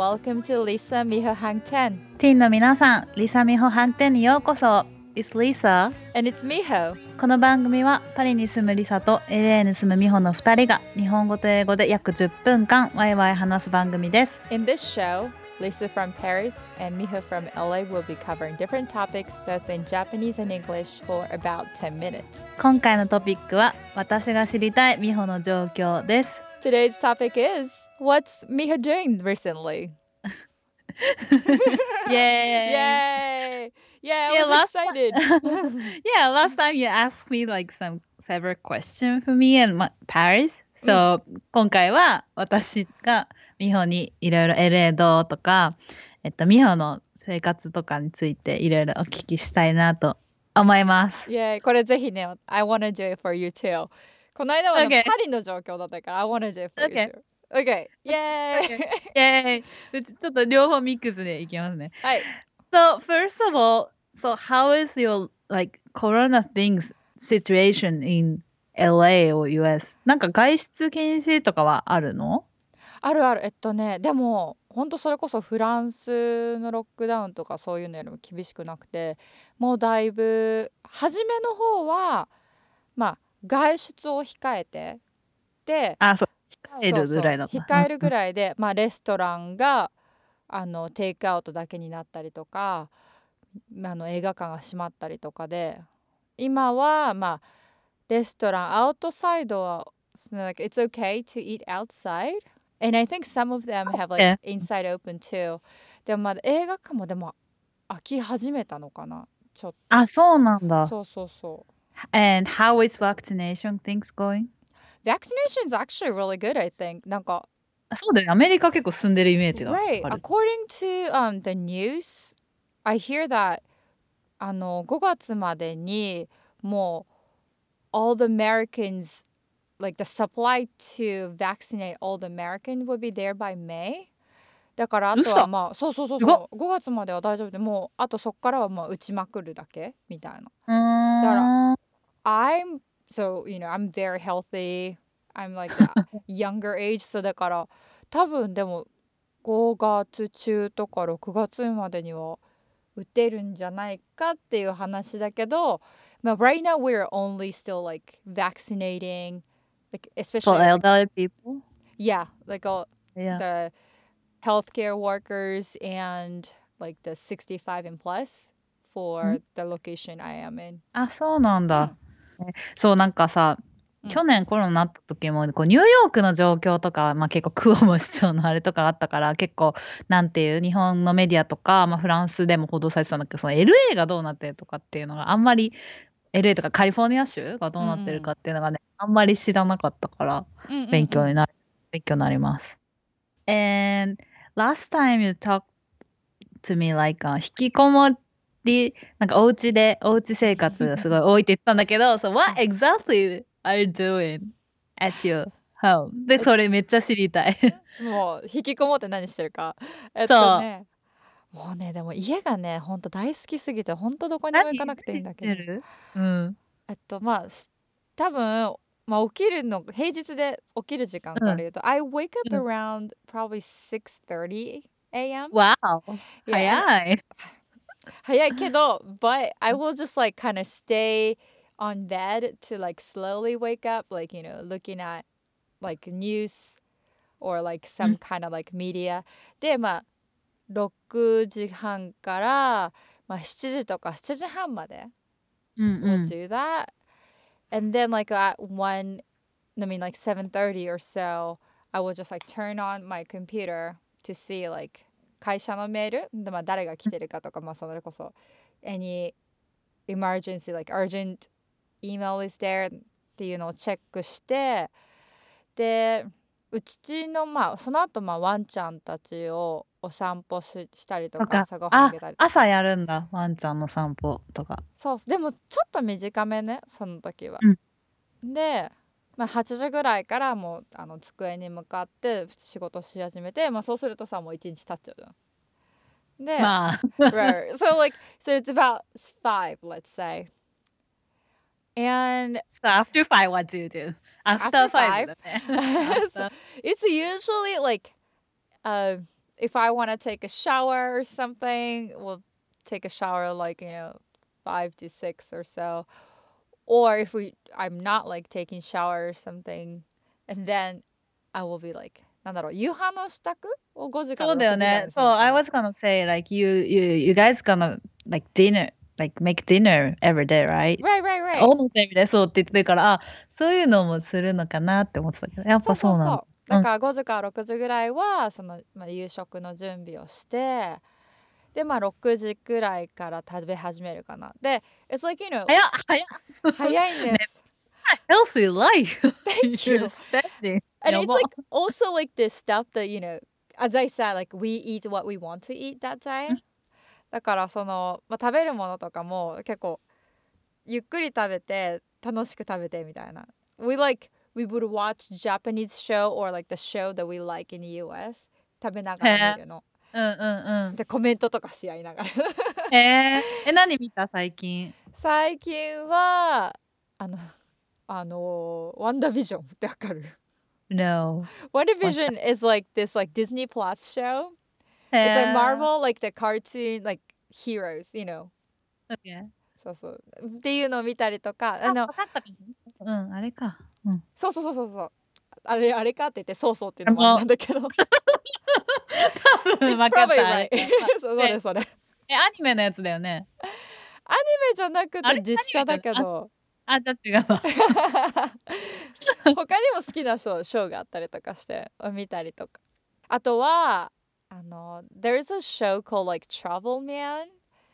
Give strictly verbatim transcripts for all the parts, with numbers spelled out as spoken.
welcome to Lisa Miho Hangten. ティーンの皆さん、リサミホ飯店にようこそ。It's Lisa. And it's Miho. この番組はパリに住むリサと エルエー に住むミホのふたりが日本語と英語で約じゅっぷんかんワイワイ話す番組です。 In this show, Lisa from Paris and Miho from L A will be covering different topics both in Japanese and English for about ten minutes. 今回のトピックは私が知りたいミホの状況です。 Today's topic is, what's Miho doing recently? Yay! Yay! Yeah, I Yeah, was last excited. Yeah, last time you asked me like some several questions for me in my- Paris. So、今回は私がミホにいろいろ エルエー どうとか、えっと、ミホの生活とかについていろいろお聞きしたいなと思います。 Yay! これぜひね、I wanna do it for you too. この間は、ね Okay. パリの状況だったから I wanna do it for Okay. you too. Okay. Yay! Okay. Yay! うちちょっと両方ミックスでいきますね。 はい。 So first of all, so how is your like corona things situation in L A or U S? なんか外出禁止とかはあるの？ あるある。えっとね、でも本当それこそフランスのロックダウンとかそういうのよりも厳しくなくて、もうだいぶ初めの方はまあ外出を控えてで、 あ、そう控えるぐらいだった。 そうそう控えるぐらいで、まあレストランがあのテイクアウトだけになったりとか、あの映画館が閉まったりとかで、今はまあレストランアウトサイドは like it's okay to eat outside and I think some of them have like Okay. inside open too. でもまだ映画館もでも開き始めたのかな、ちょっと。 あ、そうなんだ。 そうそうそう。 And how is vaccination things going? Vaccination is actually really good, I think. なんかあ、そうだよね。アメリカ結構進んでるイメージが Right. ある。 According to um, the news, I hear that あのごがつまでにもう all the Americans, like the supply to vaccinate all the Americans would be there by May. だからあとは嘘まあそうそうそうすごっそうごがつまでは大丈夫で、もうあとそっからはまあ打ちまくるだけみたいな。 うーん。 I'm so you know I'm very healthy. I'm like a younger age, so だから多分でもごがつ中とかろくがつまでには打てるんじゃないかっていう話だけど、まあ right now we're only still like vaccinating, like For especially elderly people? yeah, like all Yeah. the healthcare workers and like the sixty-five and plus for the location I am in. あ、そうなんだ。ねそう、なんかさ、 うん去年コロナになった時もこうニューヨークの状況とかは、まあ、結構クオモ市長のあれとかあったから結構なんていう日本のメディアとか、まあ、フランスでも報道されてたんだけど、その エルエー がどうなってるとかっていうのがあんまり エルエー とかカリフォルニア州がどうなってるかっていうのがね、あんまり知らなかったからうんうんうん勉強になる、勉強になります。And last time you talked to me like、uh, 引きこもりなんかお家でお家生活がすごい多いって言ってたんだけどso what exactly are you doing at your home? でそれめっちゃ知りたい。 もう引きこもって何してるか。えっとね、もうねでも家がねほんと大好きすぎてほんとどこにも行かなくていいんだけど。 何してる？うん。 えっとまあし多分まあ起きるの平日で起きる時間から言うと、I wake up うん around probably six thirty a m. Wow! Yeah, 早い。 早いけど but I will just like kind of stay on bed to like slowly wake up, like you know looking at like news or like うん some kind of like media でまあろくじはんからまあしちじとかしちじはんまでうん we'll うん。 do that, and then like at one, I mean like seven thirty or so I will just like turn on my computer to see like 会社のメールで、まあ、誰が来てるかとか、まあ、それこそ any emergency like urgent email is there っていうのをチェックして、でうちのまあその後まあワンちゃんたちをお散歩ししたりとかとか朝ごはんああげたりとか。 朝やるんだワンちゃんの散歩とか。 そうでもちょっと短めねその時は、 うんで、まあ、はちじぐらいからもうあの机に向かって仕事し始めて、まあ、そうするとさもう一日経っちゃうじゃん。で、 まあ right. So like so it's about five, let's say. And So after five what do you do? After After five five? だね。After- It's usually like uh if I want to take a shower or something, we'll take a shower like, you know, five to six or so. Or if we I'm not like taking shower or something, and then I will be like なんだろう、夕飯の支度をごじからそうだよろくじぐらいね。そう、 にするのか I な。 was gonna say like you you you guys gonna like dinner like make dinner every day, right? Right, right, right. almost every day そうって言ってるから、あ、そういうのもするのかなって思ってたけど、やっそうそうぱそうなんだ。 そう。だからごじからろくじぐらいはその、まあ、夕食の準備をして、でまあろくじくらいから食べ始めるかな。で、it's like you know 早っ早っ早いんです。 healthy life Thank you. you're spending. And や it's ば。 like also like this stuff that you know, as I said, like we eat what we want to eat that day. だからその、まあ、食べるものとかも結構ゆっくり食べて楽しく食べてみたいな。We like we would watch Japanese show or like the show that we like in the ユーエス 食べながら見るの。 うんうんうん。 でコメントとかし合いながら。 へえ。え、何見た最近？ 最近はあのあのワンダービジョンってわかる？ No. WandaVision is like this like Disney Plus show. へ It's え。 like Marvel, like the cartoon, like heroes, you know. Okay. そうそう。っていうのを見たりとか、ああ、 の、 わかったかも。うん、あれか。うん。 そうそうそうそうそう。あれ、あれかって言って、そうそうっていうあのもあれなの、 んだけど。 多分 It's わかっ probably た、あ right. れか。 そうそで、 れそれ。 え、アニメのやつだよね。 アニメじゃなくあれ、 て実写だけアニメじゃないど。 あ、あ、じゃあ違うわ。 他にも好きなショーショーがあったりとかして見たりとか。あとは、あの、there's a show called like Travel Man.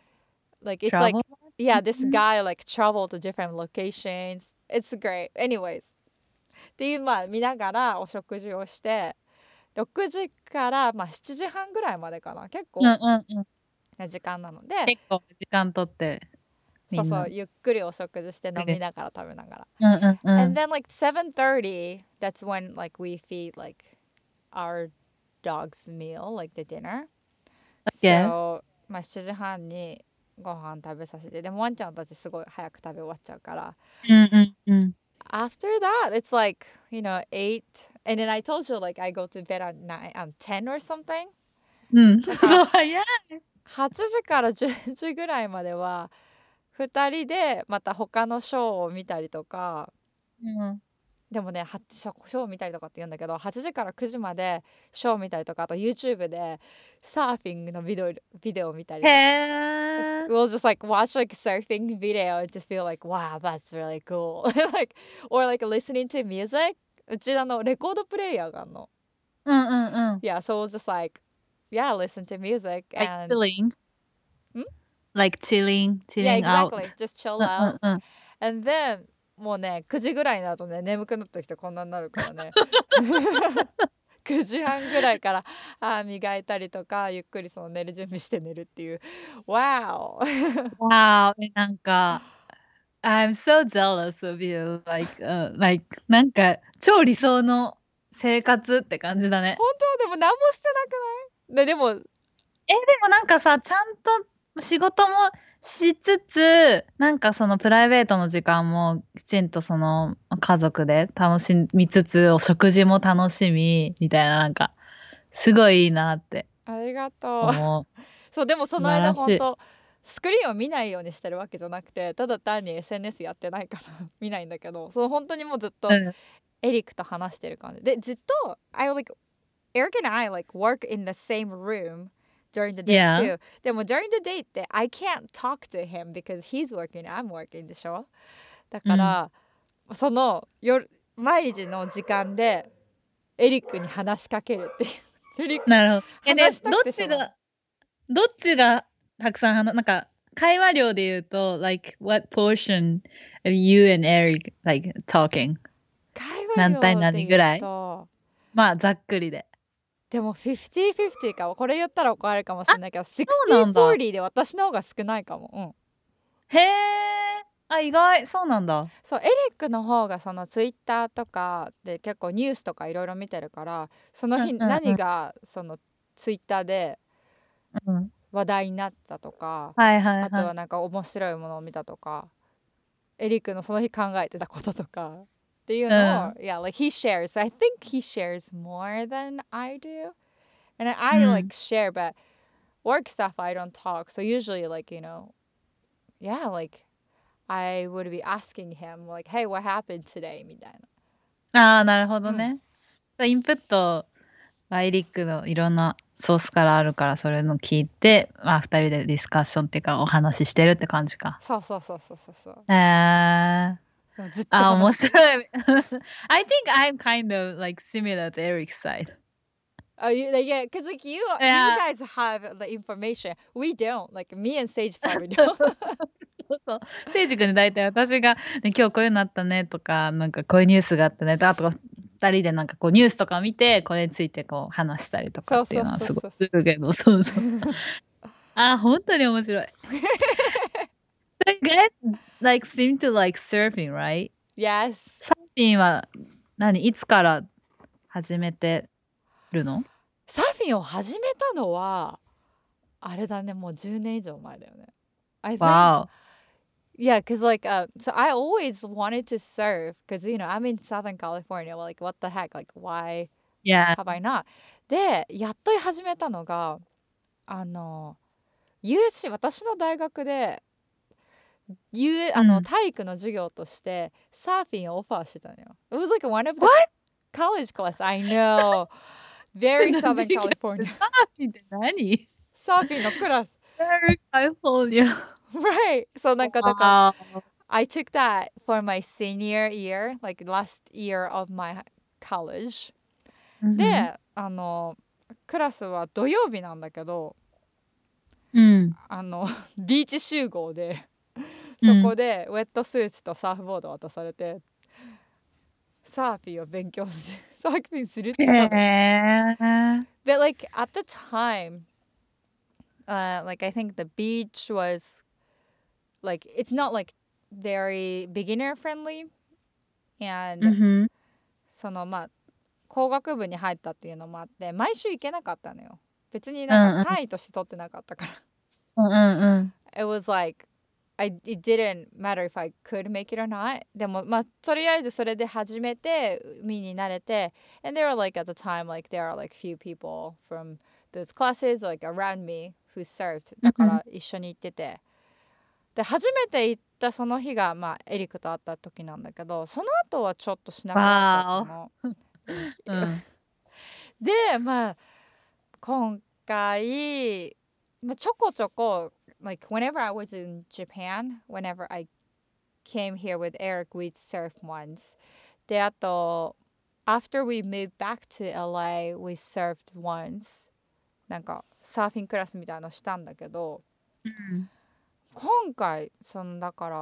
Like it's like, Travel? yeah, this うん guy like travel to different locations. It's great. Anyways. っていうまあ見ながらお食事をしてろくじからまあしちじはんぐらいまでかな、結うん構うんうん。 な時間なので、 結構時間取ってみんな。 そうそうゆっくりお食事して飲みでながら食べながら。 うんうんう And ん。 then like seven thirty, that's when like we feed like our dog's meal, like the dinner. Okay. So まあしちじはんにご飯食べさせて、でもワンちゃんたちすごい早く食べ終わっちゃうから。 うんうんうん。 After that, it's like, you know, eight. And then I told you, like, I go to bed at nine, um, ten or something. うん。 だからそう、早い。 はちじからじゅうじぐらいまでは、ふたりでまた他のショーを見たりとか、 うん。 でもね、はショショーを見たりとかって言うんだけど、はちじからくじまでショーを見たりとか、あと YouTube でサーフィングのビデオビデオを見たりへとか。 え。 We'll just like watch like surfing video and just feel like, wow, that's really cool. Like, or like listening to music. うちあのレコードプレイヤーがあるの。 うんうんうん。 Yeah, so we'll just like, yeah, listen to music Like and chilling? ん Like chilling, Yeah, chilling out. exactly. Just う chill んうん out. うん。 And then もうね、くじぐらいになるとね、眠くなった人こんなになるからね。くじはんぐらいから歯磨いたりとか、ゆっくりその寝る準備して寝るっていう。Wow! Wow! え、なんか、I'm so jealous of you. Like, uh, like なんか超理想の生活って感じだね。 本当でも何もしてなくない？で、でも、 え、でもなんかさ、ちゃんと仕事もしつつ、なんかそのプライベートの時間もきちんとその家族で楽しみつつ、お食事も楽しみみたいな、なんかすごいいいなってありがとう。 思う。 そう、でもそ素の晴らしい。 間本当スクリーンを見ないようにしてるわけじゃなくて、ただ単に エスエヌエス やってないから見ないんだけど、そう本当にもうずっとうん。 エリックと話してる感じで、ずっと I like Eric and I like work in the same room during the day Yeah. too. でも during the day って I can't talk to him because he's working, I'm working でしょ。だうん。 から、その夜毎日の時間でエリックに話しかけるっていう。エリックなるほど。え、で、 話したどっくてしょうがない。 ちがどっちがたくさんはななんか会話量で言うと、like what portion of you and Eric like talking? 会何対話量で言う何ぐらい？ と、 まあざっくりで。 でもフィフティーフィフティーかも。これ言ったら怒られるかもしあ、 れないけど、 そうなんだ。 シックスティーフォーティーで私の方が少ないかも。うん。 へえ。あ、意外。そうなんだ。 そう、エリックの方がそのツイッターとかで結構ニュースとかいろいろ見てるから、その日うんうんうん。 何がそのツイッターでうん。 話題になったとか、 はいはいあとは。 はいなんか面白いものを見たとか、エリックのその日考えてたこととかっていううのを、 ん。 yeah, like he shares. I think he shares more than I do. And I, I like share, but work stuff I don't talk. So usually like, you know, yeah, like I would be asking him like, hey, what happened today? みたいああ、なるほな。うん。 どね。インプットはエリックのいろんなソースからあるから、それの聞いて、まあ二人でディスカッションっていうかお話ししてるって感じか。 そうそうそうそうそうそう。 えー、 でもずっとあ、面話す。 白い。I think I'm kind of like similar to Eric's side. Oh, you, like, yeah, because like you, you Yeah. guys have the information. We don't. Like me and Sage probably そう don't. そうそう。せいじくんに大体私が、ね、今日こういうのあったねとか、なんかこういうニュースがあったねとか、あと二人でなんかこうニュースとか見て、これについてこう話したりとかっていうのはすごいするけど、そうそう。あ、本当に面白い。So you guys like seem to like surfing, right? Yes. サーフィンは何いつから始めてるの？ サーフィンを始めたのはあれだね、もうじゅうねん以上前だよね。I think, Wow. yeah, because like, uh, so I always wanted to surf because, you know, I'm in Southern California. Like, what the heck? Like, why Yeah. have I not? で、やっと始めたのが、あの、ユーエスシー、私の大学で、U、あの、 うん。 体育の授業としてサーフィンをオファーしてたのよ。It was like one of the What? college class. I know. Very Southern 授業 California. サーフィンって何？ サーフィンのクラス。 Very California. Right. So なんかだから、 Wow. I took that for my senior year, like last year of my college. うんで、あの、クラスは土曜日なんだけど、 うん。 あの、ビーチ集合で、 うん。 そこでウェットスーツとサーフボード渡されて、サーフィンを勉強する、サーフィンするって言ったの。 へー。 But like at the time, uh, like I think the beach was like it's not like very beginner friendly, う and んふん。 そのまあ工学部に入ったっていうのもあって毎週行けなかったのよ。別にうなんんうん。 か単位として取ってなかったから。 うんうんうん。 It was like I, it didn't matter if I could make it or not. でもまあとりあえずそれで始めて海に慣れて and there were like at the time like there are like few people from those classes like around me who surfed だから一緒に行っててで初めて行ったその日がまあエリックと会った時なんだけどその後はちょっとしなくなっちゃったの。 うん。 でまあ今回、まあ、ちょこちょこ like whenever I was in Japan, whenever I came here with Eric, we'd surf once. で、あと、after we moved back to L A, we surfed once. なんか、サーフィンクラスみたいなのしたんだけど、 うん。 今回、その、だから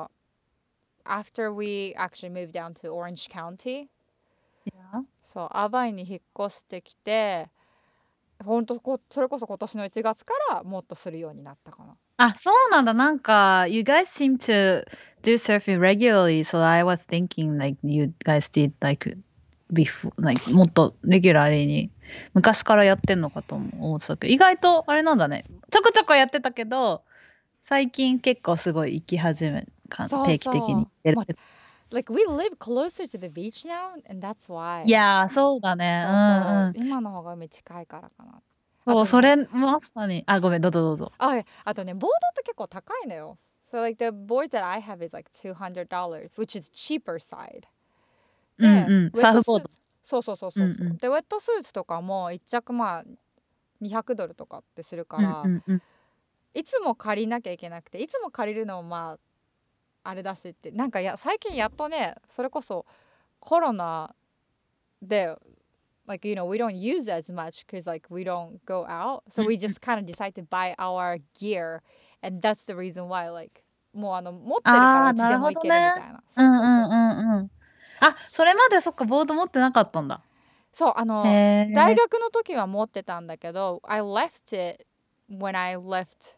、after we actually moved down to Orange County, Yeah. そう、アバイに引っ越してきて、ほんとこそれこそ今年のいちがつからもっとするようになったかな。 あ、そうなんだ。なんか、you guys seem to do surfing regularly, so I was thinking like you guys did like before, like もっとレギュラーに昔からやってんのかと思ってたけど、意外とあれなんだね。ちょこちょこやってたけど、最近結構すごい行き始め、かそう定期的に行ってるそう。ま Like we live closer to the beach now, and that's why. いやー、そうだね。 そううんそううん。 今の方が海近いからかな。 そう、 あとね、 それまさに。あ、ごめん、どうぞどうぞ。 あ、あとね、ボードって結構高いのよ。So like the board that I have is like two hundred dollars, which is cheaper side. うんで、 うん。 ウェットスーツ。 サーフボード。 そうそうそうそうそう。 うんうん。 で、ウェットスーツとかもいっ着まあにひゃくドルとかってするかうんら、 うんうん。 いつも借りなきゃいけなくて、いつも借りるのもまああれだしって、なんかや最近やっとね、それこそコロナで like you know we don't use it as much because like we don't go out, う so ん we うん just kind of decide to buy our gear, and that's the reason why like もうあの持ってるかああ、 らいつなるほどでも行けるみね。 たいな。 うそうそうそうんうんうそう。 んうん。あ、それまでそっか、ボード持ってなかったんだ。 そうあへの大え。 学の時は持ってたんだけど I left it when I left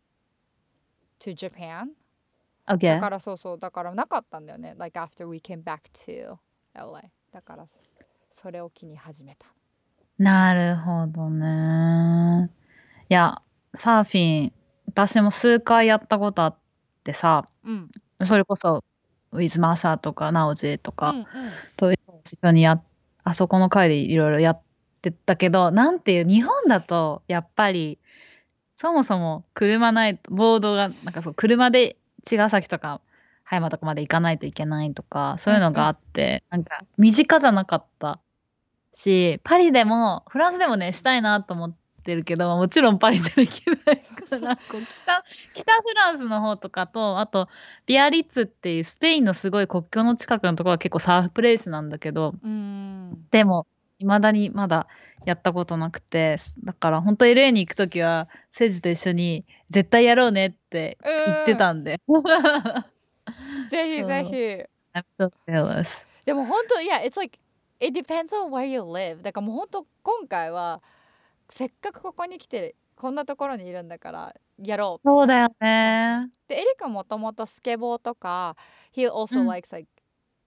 to Japan. だ OK。 からそうそうだからなかったんだよね like after we came back to L A だからそれを機に始めた。 なるほどね。いや、サーフィン、私も数回やったことあってさ、 うんそれこそ、ウィズマサとか、ナオジとか、 うんうんと一緒にや、あそこの会でいろいろやっってたけど、なんていう、日本だとやっぱりそもそも車ないと、ボードがなんかそう車で茅ヶ崎とか葉山とかまで行かないといけないとか、そういうのがあって、なんか身近じゃなかったし、パリでもフランスでもねしたいなと思ってるけど、もちろんパリじゃできないからこう北北フランスの方とかと、あとビアリッツっていうスペインのすごい国境の近くのところは結構サーフプレイスなんだけど、 うん。 でも未だにまだやったことなくて、だから本当 エルエー に行くときはセジと一緒に絶対やろうねって言ってたんで。 ぜひぜそう。 ひ。 I'm so jealous. でも本当、いや、it's like, it depends on where you live. だからもう本当、今回は、せっかくここに来て、こんなところにいるんだから、やろうって。 そうだよそうそう。 ね。 で、エリカもともとスケボーとか、he う also ん。 likes like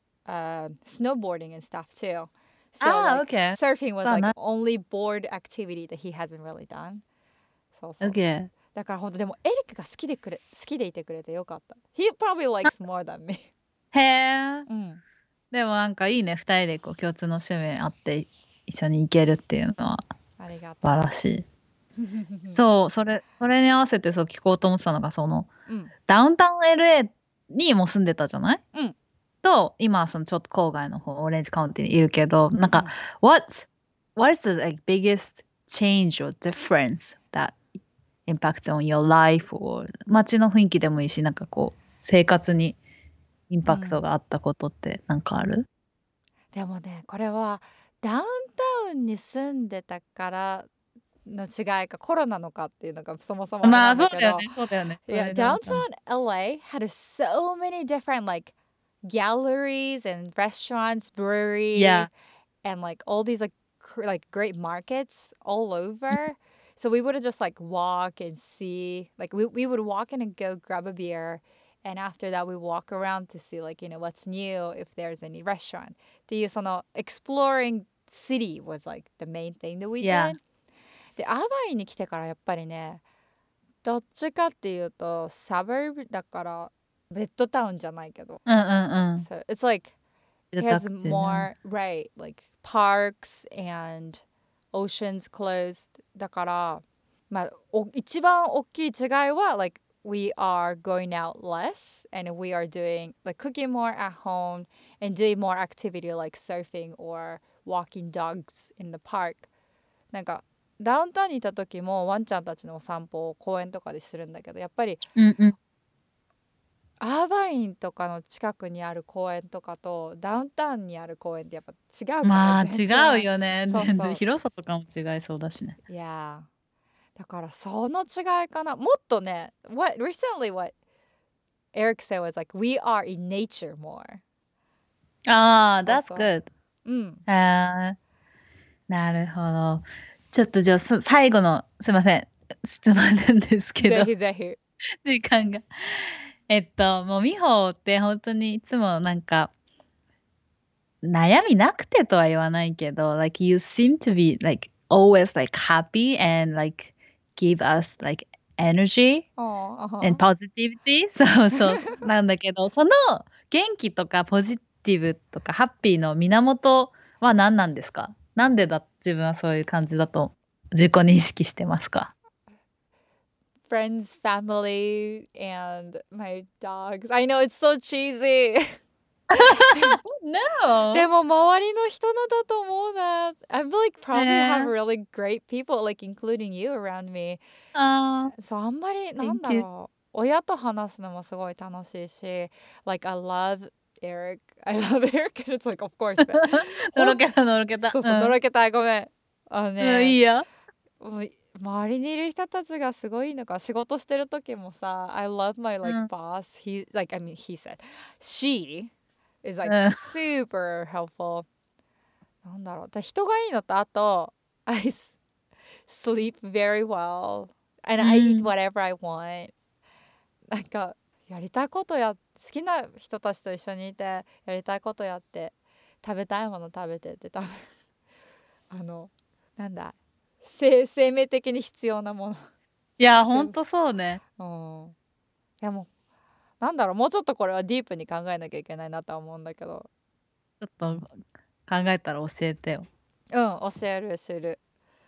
uh, snowboarding and stuff too. So ああ、 like OK。 surfing was そう like な。 only board activity that he hasn't really done. そうそう。 OK。 だから本当でもエリックが好きでくれ好きでいてくれてよかった。He probably likes more than me. へえ。 うん。 でもなんかいいね、二人でこう共通の趣味あって一緒に行けるっていうのはありが素晴とらしい。 う。 そう、それ、それに合わせてそう聞こうと思ってたのが、その、 うん。 ダウンタウン エルエー にも住んでたじゃない、 うん。 と、今はそのちょっと郊外の方、オレンジカウンティにいるけど、なんか、 うん what, what is the like, biggest change or difference that impacts on your life or 街の雰囲気でもいいし、なんかこう、生活にインパクトがあったことってなんかある？ でもね、これはダウンタウンに住んでたからの違いかコロナのかっていうのがそもそもあれまあ、 なんだけど、 そうだよね、そうだよね。 いや、 それダウンタ downtown ウン。 L A had so many different like galleries and restaurants, brewery, Yeah. and like all these like cr- like great markets all over. So we would just like walk and see like we we would walk in and go grab a beer, and after that we walk around to see like you know what's new if there's any restaurant. っていうその exploring city was like the main thing that we Yeah. did. で、アーバインに来てからやっぱりね、どっちかっていうとサバーブだからベッドタウンじゃないけど。 うんうんうん。 So it's like 住 it 宅 has 地ね。 more right like parks and oceans closed だからまあお一番大きい違いは like we are going out less and we are doing like cooking more at home and doing more activity like surfing or walking dogs in the park なんかダウンタウンにいた時もワンちゃんたちのお散歩を公園とかでするんだけどやっぱりうんうん。 アーバインとかの近くにある公園とかとダウンタウンにある公園ってやっぱ違うからまあ、違う全然よね。全然そうそう広さとかも違いそうだしね。 いやーだからその違いかなもっとね what recently what Eric said was like we are in nature more ああ、 そう that's そう good. うんあー、なるほど。ちょっとじゃあ、す最後の、すいません。質問なんですけぜど、 ひぜひ時間が。えっと、もう美穂って本当にいつもなんか、悩みなくてとは言わないけど、like you seem to be like always like happy and like give us like energy ああ and positivity そうそうなんだけど、その元気とかポジティブとかハッピーの源は何なんですか？なんでだ自分はそういう感じだと自己認識してますか？ friends family and my dogs I know it's so cheesy No! でも周りの人のだと思うな。I feel like え probably have ー、 really great people, like including you around me. あー、 そう、あんまりなんだ Thank you. ろう。親と話すのもすごい楽しいし、like I love Eric. I love Eric. And it's like, of course. But のほんろけたのろけた。 そうそう、のうん。 ろけたい。ごめん。あのうん、 ね、 いいよ。 もう周りにいる人たちがすごいのか仕事してる時もさ I love my う like ん。 boss he like I mean he said she is う like ん。 super helpful なんだろうだ人がいいのとあと I s- sleep very well う and I eat ん。 whatever I want なんかやりたいことや好きな人たちと一緒にいてやりたいことやって食べたいもの食べてって多分あのなんだ生生命的に必要なものいや、ほ全部んとそうね。 うんいやもうなんだろうもうちょっとこれはディープに考えなきゃいけないなとは思うんだけどちょっと考えたら教えてよ。 うん教えるする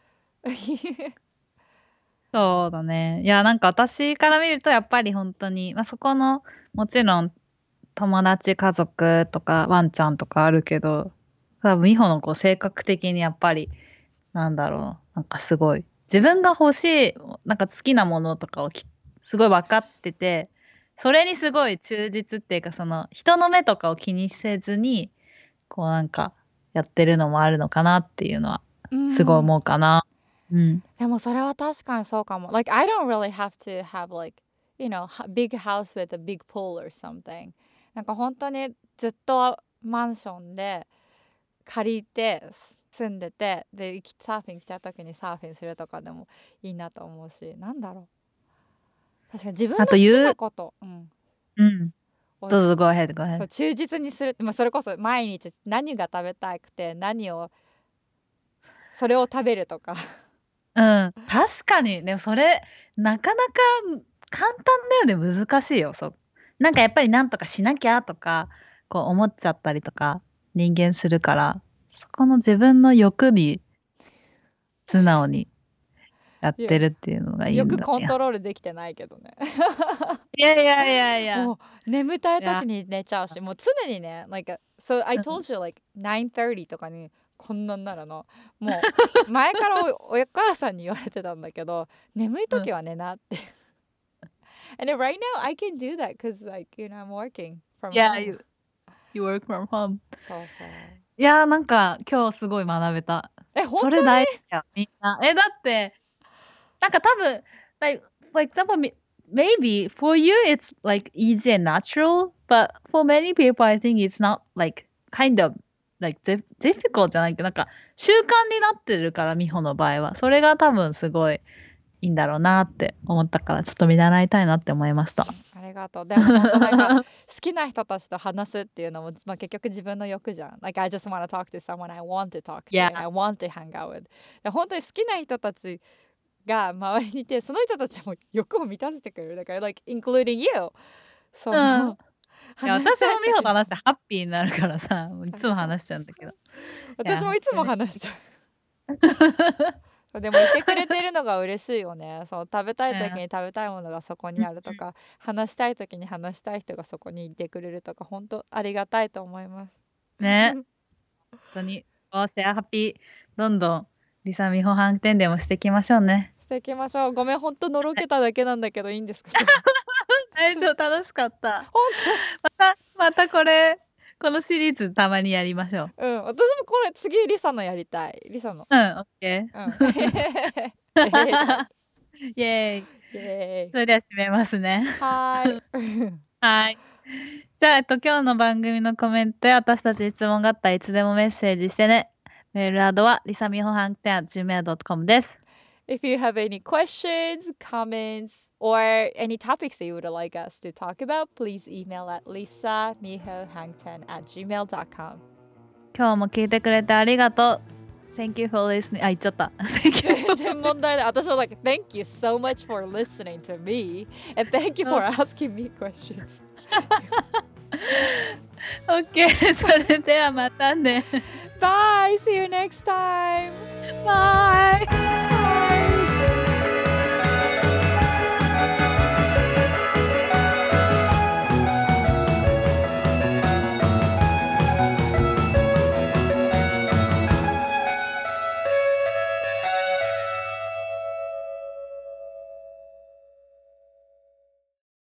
そうだね。いや、なんか私から見るとやっぱり本当に、まあ、そこの、もちろん友達、家族とかワンちゃんとかあるけど、多分美穂のこう性格的にやっぱり、なんだろう、なんかすごい、自分が欲しい、なんか好きなものとかをきすごい分かってて、それにすごい忠実っていうか、その人の目とかを気にせずに、こうなんかやってるのもあるのかなっていうのは、 うすごいん思うかな。うん。 でもそれは確かにそうかも。Like I don't really have to have like, you know, ha- big house with a big pool or something. なんか本当にずっとマンションで借りて住んでて、で行きサーフィン来た時にサーフィンするとかでもいいなと思うし、なんだろう。確かに自分のあ好きと言う、 なこと、うん、 うん。 をどうぞ、go ahead, go そう ahead. 忠実にする、まあ、それこそ毎日何が食べたくて何をそれを食べるとか。 うん。確かに、でもそれ、なかなか簡単だよね、難しいよ、そう。なんかやっぱりなんとかしなきゃとか、こう思っちゃったりとか、人間するから、そこの自分の欲に素直にやっいやてるっていうのがいいよくんだね。 コントロールできてないけどね。 いやいやいやいや。 もう眠たいいや、 時に寝ちゃうし、もう常にね、like so I うん。 told you like nine thirty とかにこんなんなるの。もう前からお、お母さんに言われてたんだけど、眠いうん。 時は寝なって。And then right now I can do that because like you know I'm working from Yeah, home. you, you work from home. そうそう。 いやー、なんか今日すごい学べた。 え、本それ大事だよ、みんな。え、だって、なんか多分、like, for example, m- maybe for you it's like easy and natural, but for many people I think it's not like kind of like dif- difficult じゃないけど、なんか習慣になってるから、美穂の場合は。それが多分すごいいいんだろうなって思ったから、ちょっと見習いたいなって思いました。 ありがとう。でも本当なんか好きな人たちと話すっていうのも、まあ、結局自分の欲じゃん。Like I just want to talk to someone I want to talk to Yeah. and I want to hang out with. で本当に好きな人たちが周りにいて、その人たちも欲を満たしてくれる。だから、like including you. そうん。 のいや、 話私したい時にも美穂と話してハッピーになるからさ、もういつも話しちゃうんだけど。いや、 私もいつも本話しちゃう。でもいてくれてるのが嬉しいよね。そう食べたい時に食べたいものがそこにあるとか、話したい時に話したい人がそこにいてくれるとか、本当ありがたいと思います。 当ね、本当に、おシェアハッピー、どんどん、リサミホ反転でもしていきましょうね。 していきましょう。ごめん、本当のろけただけなんだけどいいんですか？ 大丈夫、楽しかった。 本また、またこれ、このシリーズたまにやりましょう。 当。うん、私もこれ次リサのやりたい。リサの。 うん、オッケー。 うん。えーイエーイ。 イエーイ。 それでは締めますね。 はーい。 はい。じゃあ、えっと、今日の番組のコメントや私たちに質問があったらいつでもメッセージしてね。メールアドはリサミホハンテン at ジーメール ドット コム です。 If you have any questions, comments, or any topics that you would like us to talk about, please email at lisa miho hangten at gmail dot com. 今日も聞いてくれてありがとう。Thank you for listening. あ、言っちゃった。Thank you. 全然問題ない。私は like, thank you so much for listening to me, and thank you for asking me questions. OK それではまたね。 Bye! See you next time! Bye!